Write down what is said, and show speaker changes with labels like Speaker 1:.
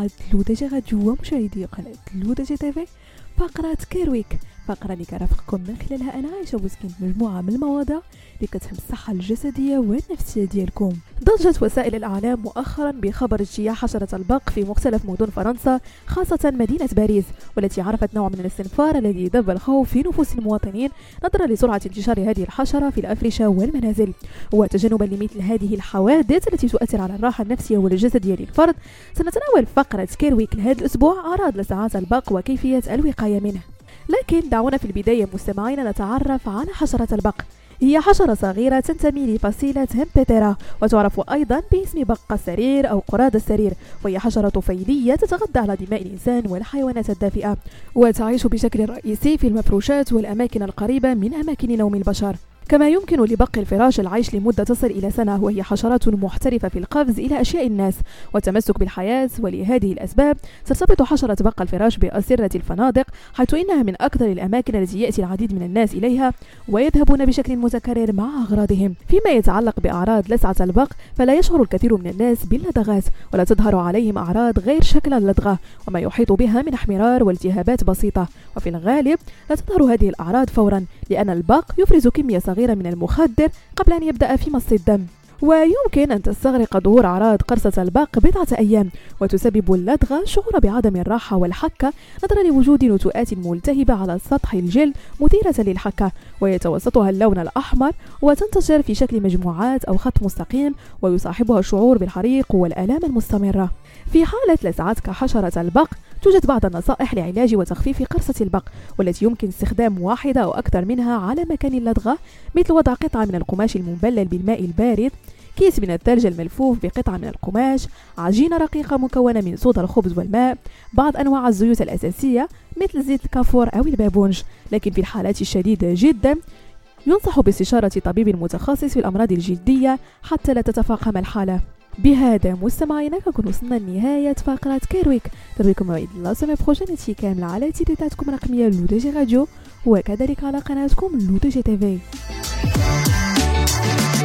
Speaker 1: متابعة لودجي راديو ومشاهدي قناة لودجي تيفي. فقرة كيرويك، فقرة اللي كرافقكم من خلالها أنا عايشة بوسكين مجموعة من المواضيع اللي كتهم الصحة الجسدية والنفسية ديالكم. ضجت وسائل الإعلام مؤخرا بخبر اجتياح حشرة البق في مختلف مدن فرنسا، خاصة مدينة باريس، والتي عرفت نوع من الاستنفار الذي دب الخوف في نفوس المواطنين نظرا لسرعة انتشار هذه الحشرة في الأفرشة والمنازل. وتجنبا لمثل هذه الحوادث التي تؤثر على الراحة النفسية والجسدية للفرد، سنتناول فقرة كيرويك لهذا الأسبوع أعراض لسعات البق وكيفية الوقاية منه. لكن دعونا في البداية مستمعينا نتعرف على حشرة البق. هي حشرة صغيرة تنتمي لفصيلة همبتيرا، وتعرف أيضا باسم بق السرير أو قراد السرير، وهي حشرة طفيلية تتغذى على دماء الإنسان والحيوانات الدافئة، وتعيش بشكل رئيسي في المفروشات والأماكن القريبة من أماكن نوم البشر. كما يمكن لبق الفراش العيش لمدة تصل إلى سنة، وهي حشرات محترفة في القفز إلى أشياء الناس والتمسك بالحياة. ولهذه الأسباب ترتبط حشرة بق الفراش بأسرة الفنادق، حيث إنها من أكثر الأماكن التي يأتي العديد من الناس إليها ويذهبون بشكل متكرر مع أغراضهم. فيما يتعلق بأعراض لسعة البق، فلا يشعر الكثير من الناس باللدغات، ولا تظهر عليهم أعراض غير شكل اللدغة وما يحيط بها من احمرار والتهابات بسيطة، وفي الغالب لا تظهر هذه الأعراض فورا، لأن البق يفرز كمية صغيرة من المخدر قبل أن يبدأ في مص الدم. ويمكن أن تستغرق ظهور أعراض قرصة البق بضعة أيام، وتسبب اللدغة شعور بعدم الراحة والحكة نظرا لوجود نتوءات ملتهبة على سطح الجلد مثيرة للحكة، ويتوسطها اللون الأحمر وتنتشر في شكل مجموعات أو خط مستقيم، ويصاحبها الشعور بالحريق والآلام المستمرة. في حالة لسعتك حشرة البق، توجد بعض النصائح لعلاج وتخفيف قرصة البق، والتي يمكن استخدام واحدة أو أكثر منها على مكان اللدغة، مثل وضع قطعة من القماش المبلل بالماء البارد، كيس من الثلج الملفوف بقطعة من القماش، عجينة رقيقة مكونة من صودا الخبز والماء، بعض أنواع الزيوت الأساسية مثل زيت الكافور أو البابونج. لكن في الحالات الشديدة جدا ينصح باستشارة طبيب متخصص في الأمراض الجلدية حتى لا تتفاقم الحالة. بهذا مستمعينا كنكون وصلنا لنهاية فقرة كيرويك. تربيكم موعد الله سمع بروجينتي كاملة على تيتاتكم الرقمية لودجي راديو، وكذلك على قناتكم لودجي تيفي.